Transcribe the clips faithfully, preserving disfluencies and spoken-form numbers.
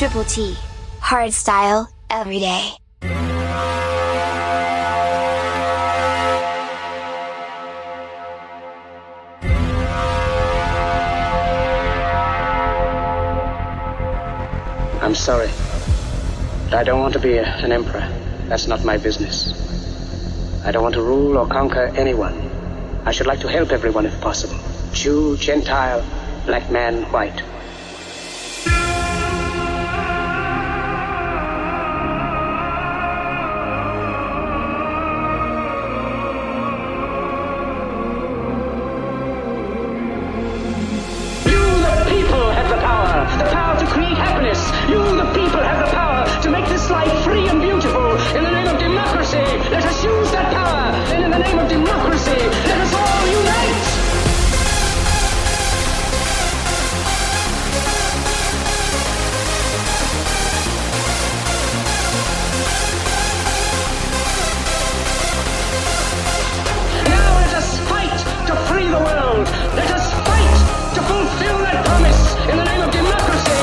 Triple T. Hardstyle, every day. I'm sorry. I don't want to be a, an emperor. That's not my business. I don't want to rule or conquer anyone. I should like to help everyone if possible. Jew, Gentile, black man, white. You, the people, have the power to make this life free and beautiful. In the name of democracy, let us use that power. And in the name of democracy, let us all unite. Now let us fight to free the world. Let us fight to fulfill that promise. In the name of democracy.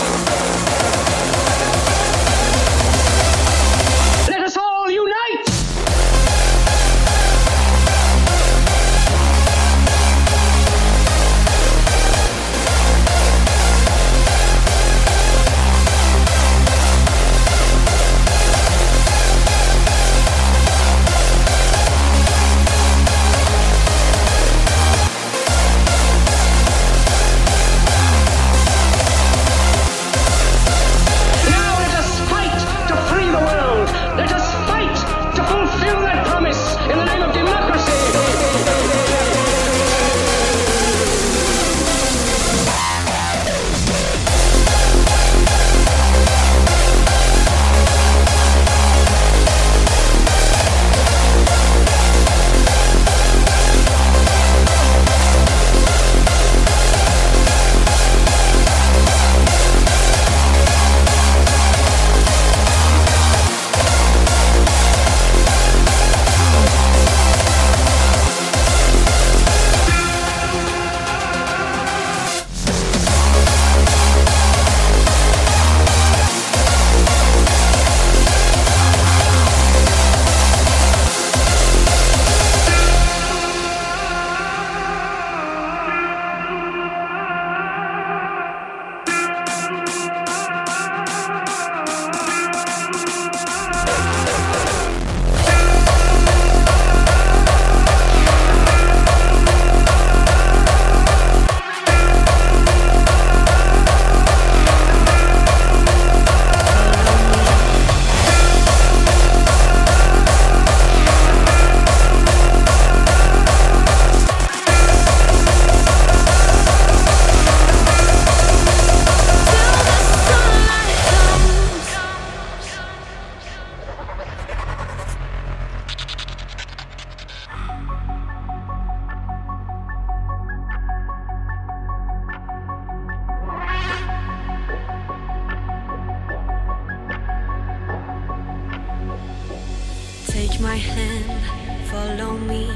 Take my hand, follow me,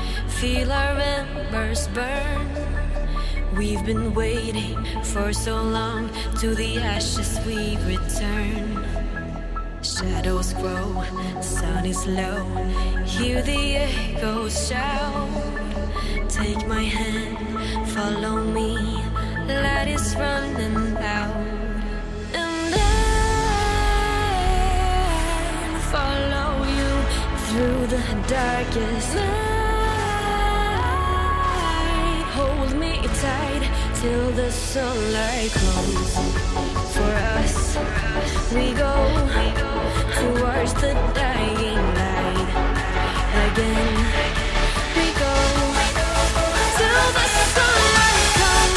feel our embers burn. We've been waiting for so long, to the ashes we return. Shadows grow, sun is low, hear the echoes shout. Take my hand, follow me, light is running out. And I'll follow you through the darkest night. Hold me tight till the sunlight comes. For us, we go towards the dying light. Again, we go till the sunlight comes.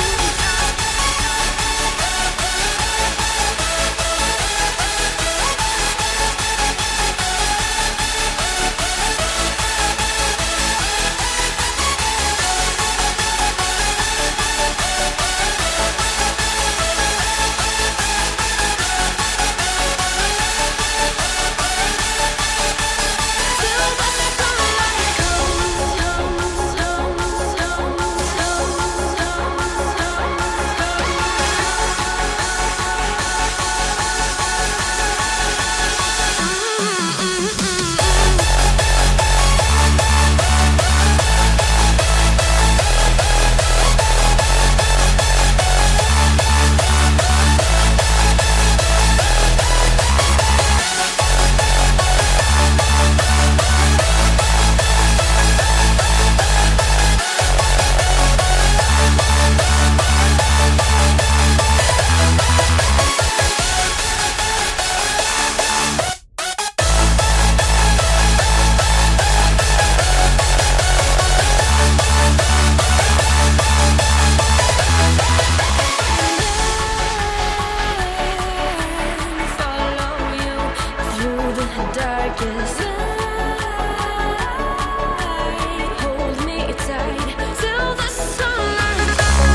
Just ride, hold me tight till the sunrise.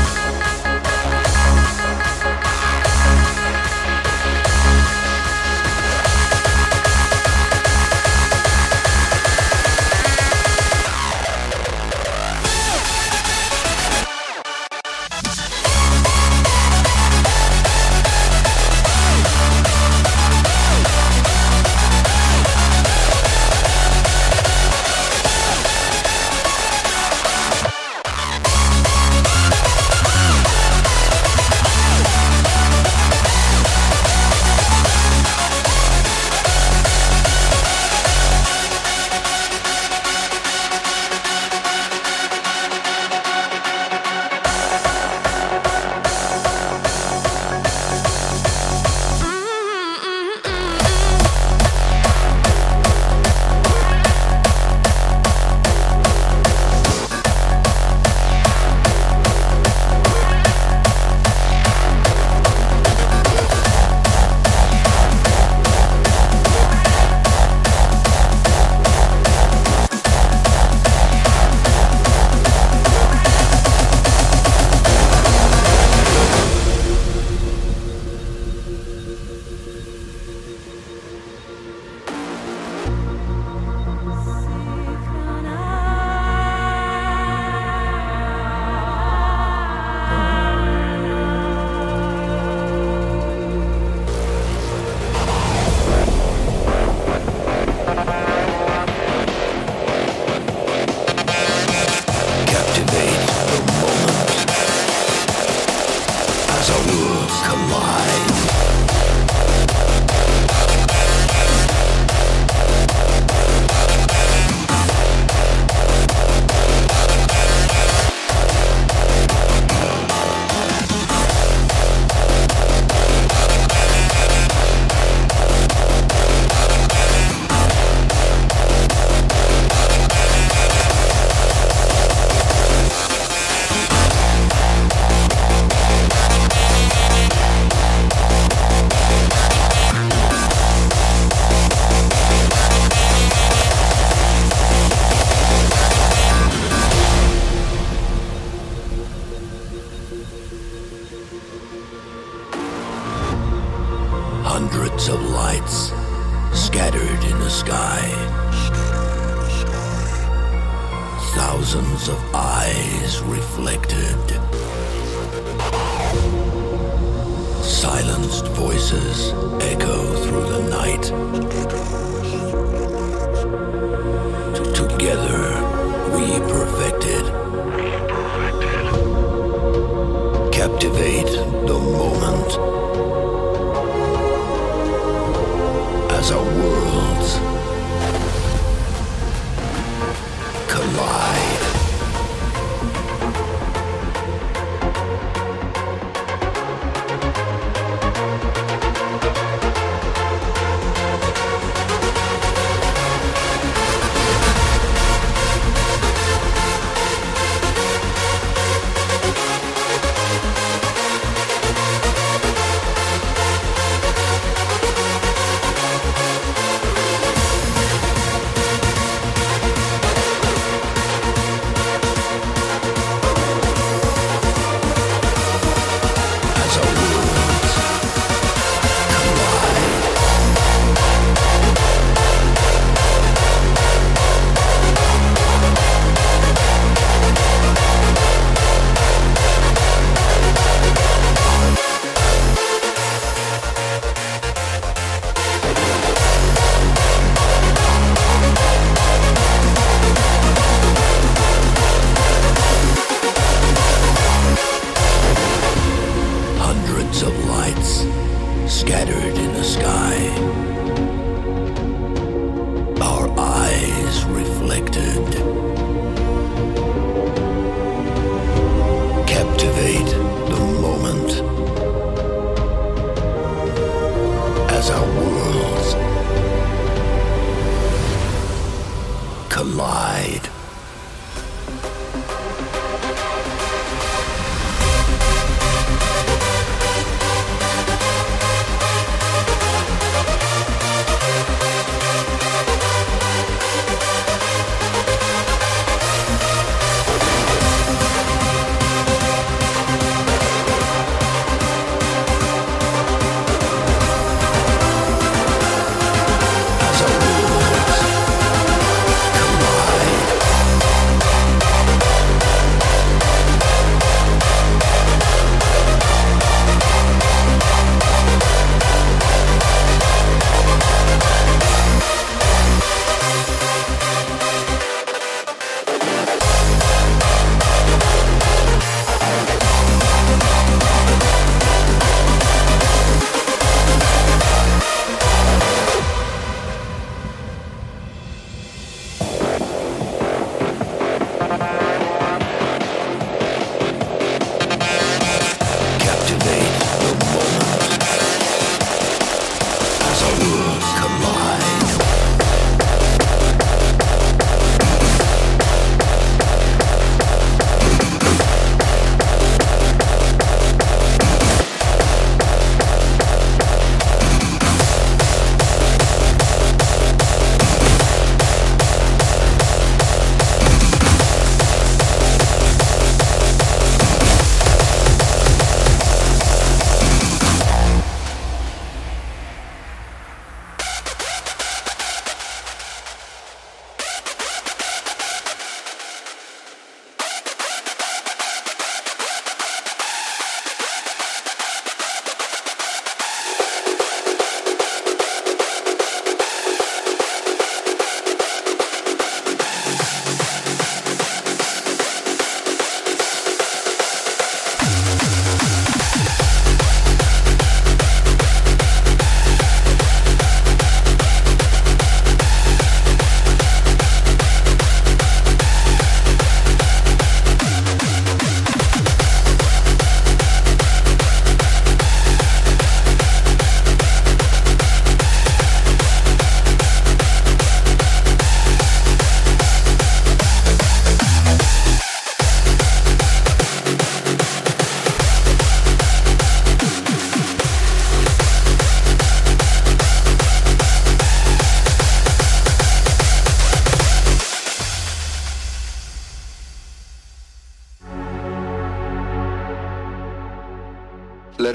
Hundreds of lights scattered in the sky. Thousands of eyes reflected. Silenced voices echo through the night. T- Together we perfected. Captivate the moment. As our worlds collide. Scattered in the sky, our eyes reflected. Captivate the moment as our worlds collide.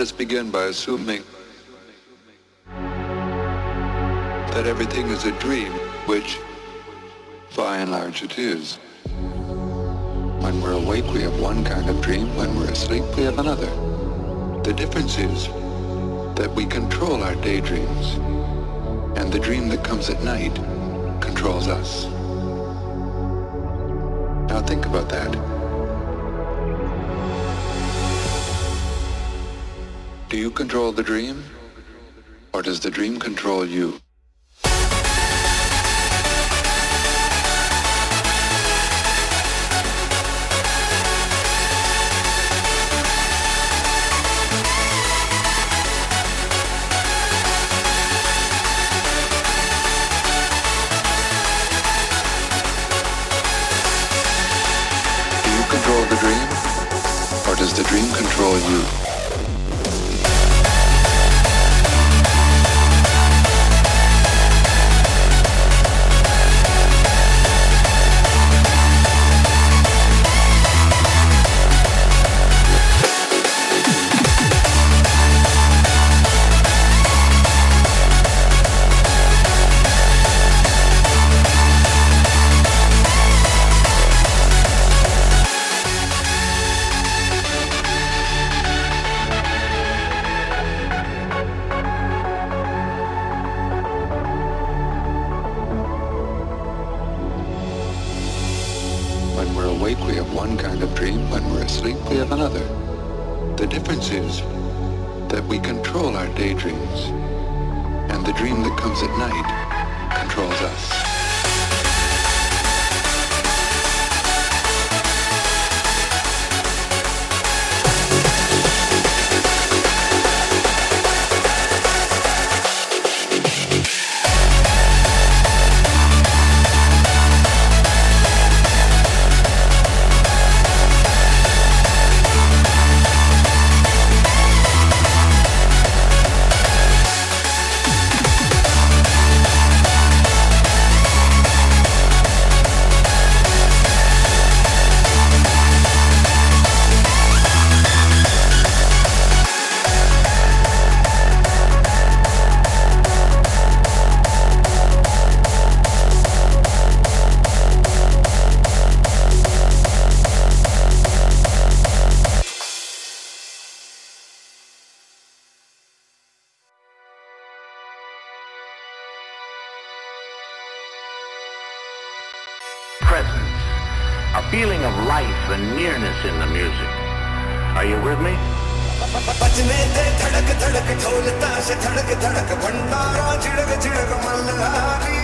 us begin by assuming that everything is a dream, which, by and large, it is. When we're awake, we have one kind of dream. When we're asleep, we have another. The difference is that we control our daydreams, and the dream that comes at night controls us. Now think about that. Do you control the dream, or does the dream control you? Does the dream control you? Daydreams, and the dream that comes at night controls us. Presence, a feeling of life and nearness in the music. Are you with me? बजने दे धड़क धड़क ढोल ताश धड़क धड़क भंडारा चिड़क चिड़क मल्हारी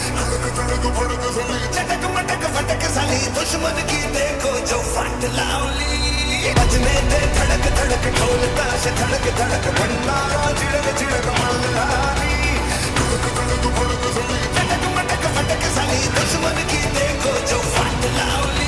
चटक मटक फटक साली दुश्मन की देखो जो फट लावली बजने दे धड़क धड़क ढोल ताश धड़क धड़क भंडारा चिड़क चिड़क मल्हारी चटक मटक फटक साली दुश्मन की देखो जो फट लावली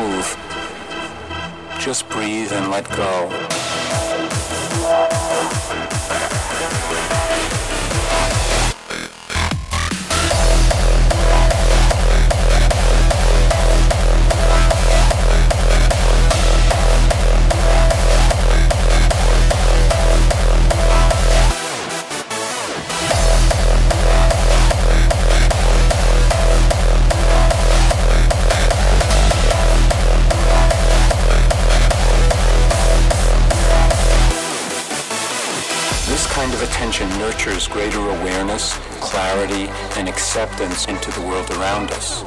move, just breathe and let go. Attention nurtures greater awareness, clarity, and acceptance into the world around us.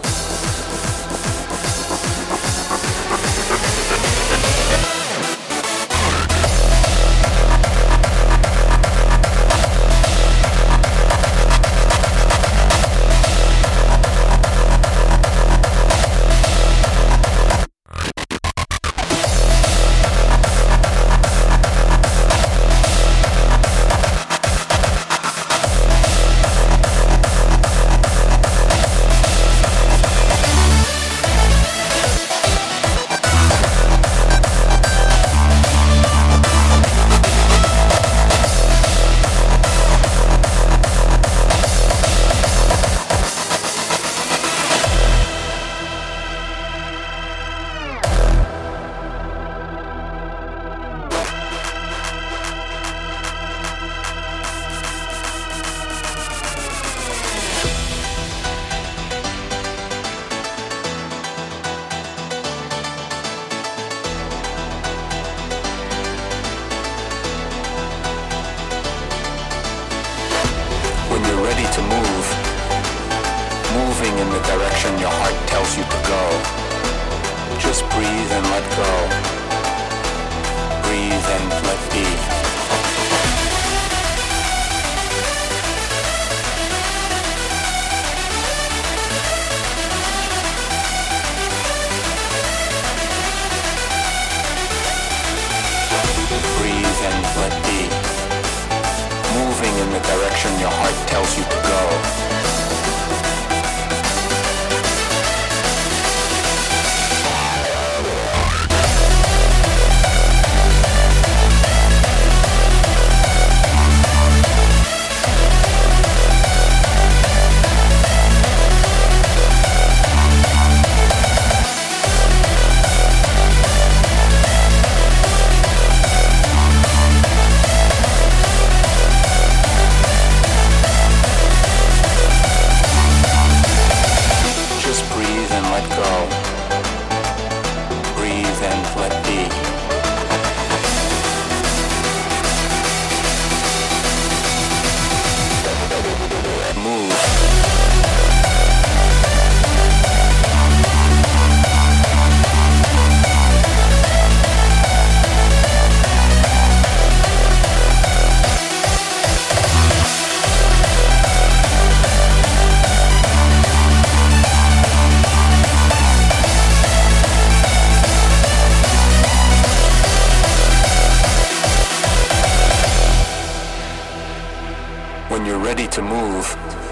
To move,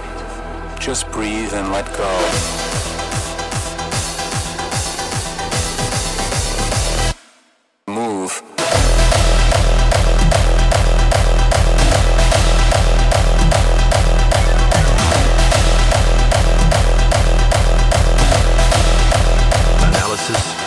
just breathe and let go. Move. Analysis.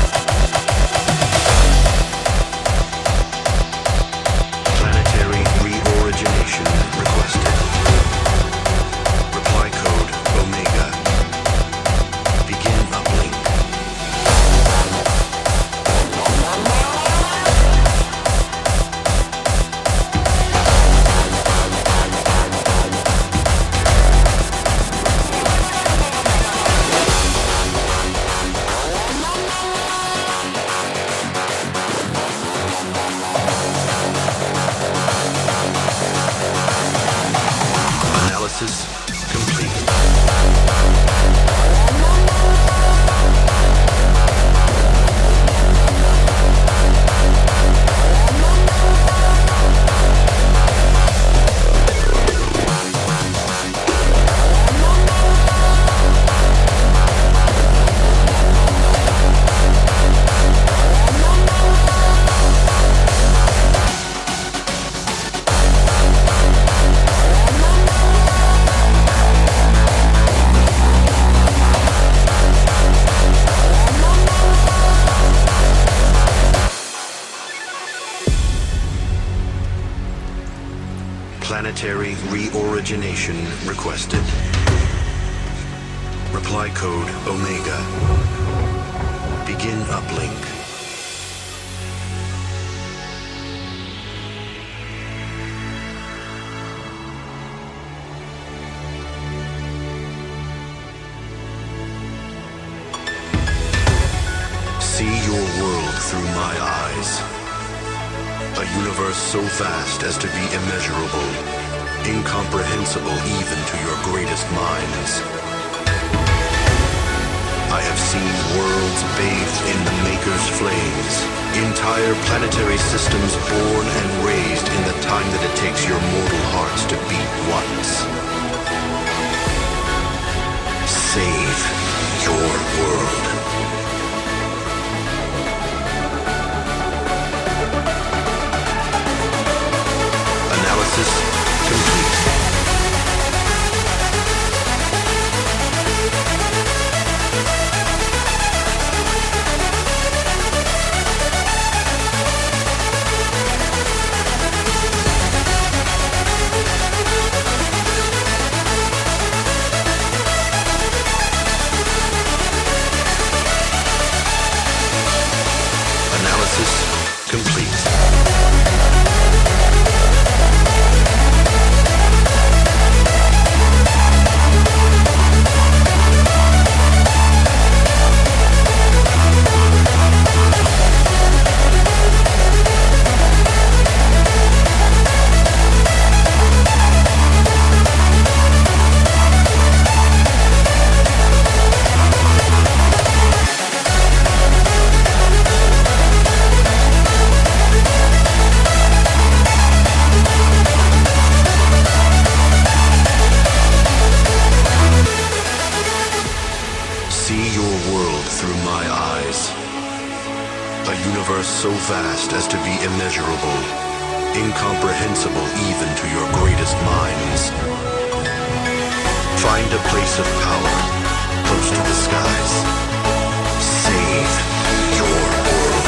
Planetary Planetary reorigination requested. Reply code Omega. Begin uplink. See your world through my eyes. A universe so vast as to be immeasurable, incomprehensible even to your greatest minds. I have seen worlds bathed in the Maker's flames, entire planetary systems born and raised in the time that it takes your mortal hearts to beat once. Save your world. Analysis complete. So vast as to be immeasurable, incomprehensible even to your greatest minds. Find a place of power, close to the skies. Save your world.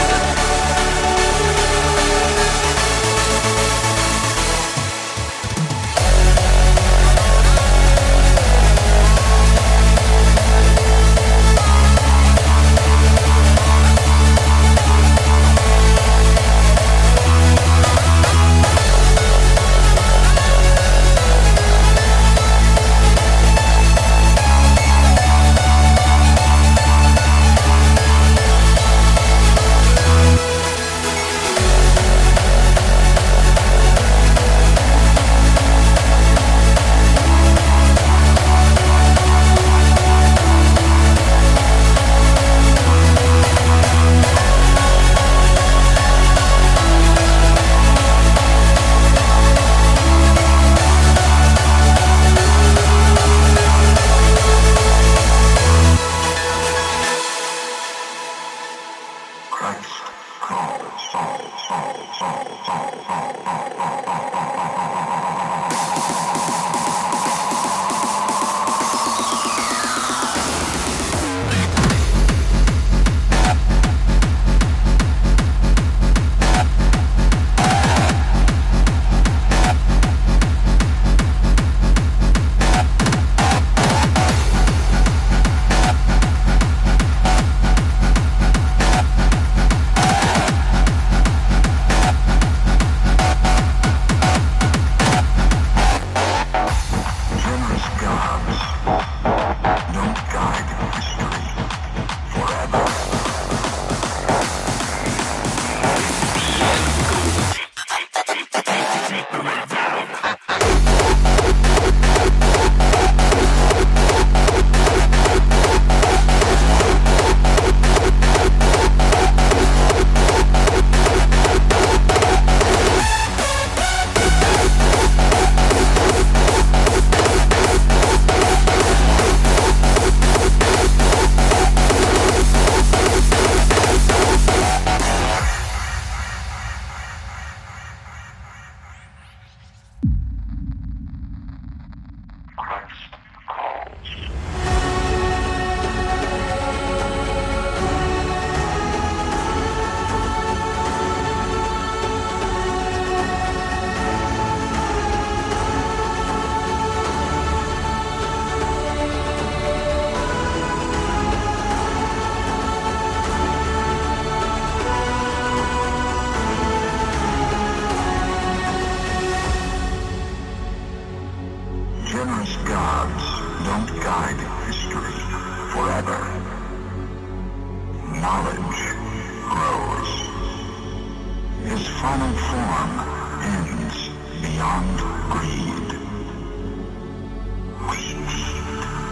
final form ends beyond greed. We need